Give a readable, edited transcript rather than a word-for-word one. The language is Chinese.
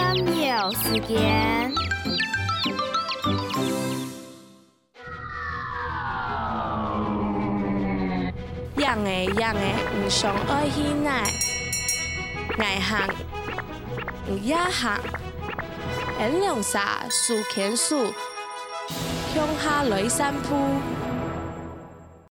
秒时间。 养的唔上爱去奶，爱行唔也行，沿凉沙树牵树，向下来散步。